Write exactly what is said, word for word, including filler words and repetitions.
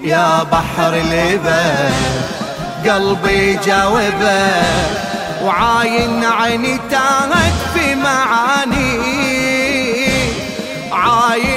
يا بحر الإبا قلبي جاوبه، وعاين عيني تاهت في معاني، عاين